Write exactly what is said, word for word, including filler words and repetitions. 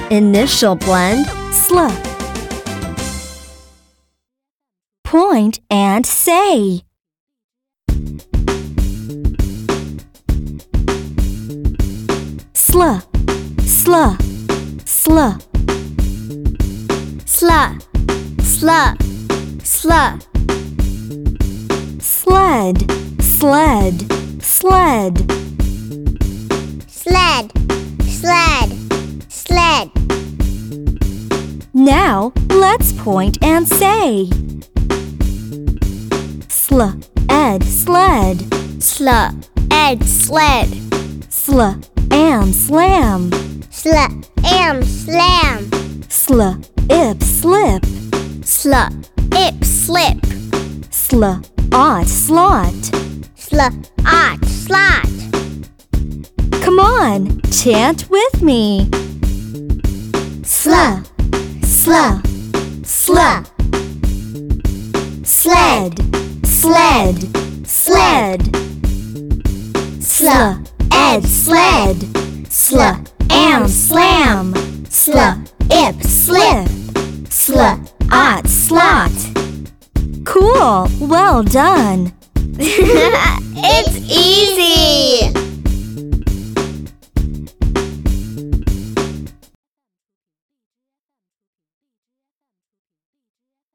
Initial blend, sl. Point and say. Sl, sl, sl. Sl, sl, sl. Sled, sled, sled. Sled, sled, sled. Now let's point and say. Sl, ed, sled. Sl, ed, sled. Sl, am, slam. Sl, am, slam. Sl, ip, slip. Sl, ip, slip. Sl, ot, slot. Sl, ot, slot. Come on, chant with me. Sl, sl, sl. Sled, sled, sled. Sl, ed, sled. Sl, am, slam. Sl, ip, slip. Sl, ot, slot. Cool, well done. It's easy.